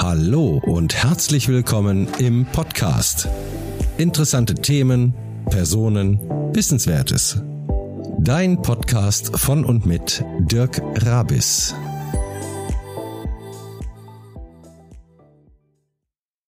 Hallo und herzlich willkommen im Podcast. Interessante Themen, Personen, Wissenswertes. Dein Podcast von und mit Dirk Rabis.